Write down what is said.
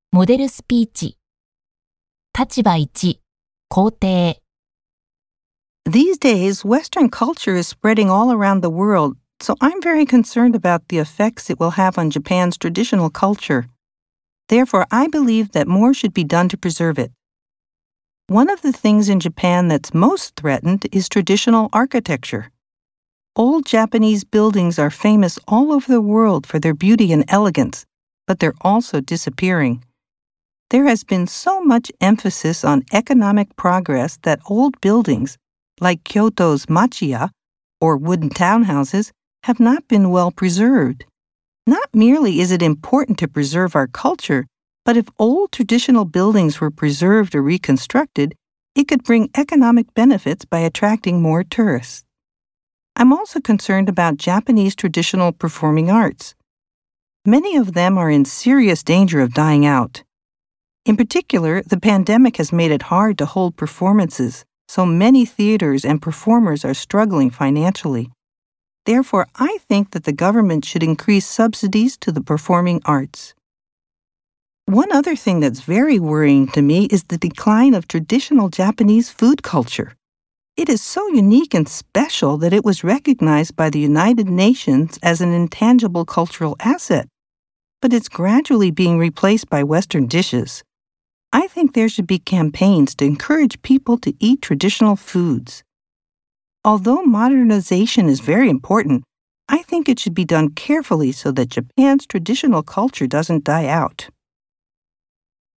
モデルスピーチ。立場1、肯定。 These days, Western culture is spreading all around the world, so I'm very concerned about the effects it will have on Japan's traditional culture. Therefore, I believe that more should be done to preserve it. One of the things in Japan that's most threatened is traditional architecture. Old Japanese buildings are famous all over the world for their beauty and elegance, but they're also disappearing. There has been so much emphasis on economic progress that old buildings, like Kyoto's machiya, or wooden townhouses, have not been well preserved. Not merely is it important to preserve our culture, but if old traditional buildings were preserved or reconstructed, it could bring economic benefits by attracting more tourists. I'm also concerned about Japanese traditional performing arts. Many of them are in serious danger of dying out. In particular, the pandemic has made it hard to hold performances, so many theaters and performers are struggling financially. Therefore, I think that the government should increase subsidies to the performing arts. One other thing that's very worrying to me is the decline of traditional Japanese food culture. It is so unique and special that it was recognized by the United Nations as an intangible cultural asset, but it's gradually being replaced by Western dishes. I think there should be campaigns to encourage people to eat traditional foods. Although modernization is very important, I think it should be done carefully so that Japan's traditional culture doesn't die out.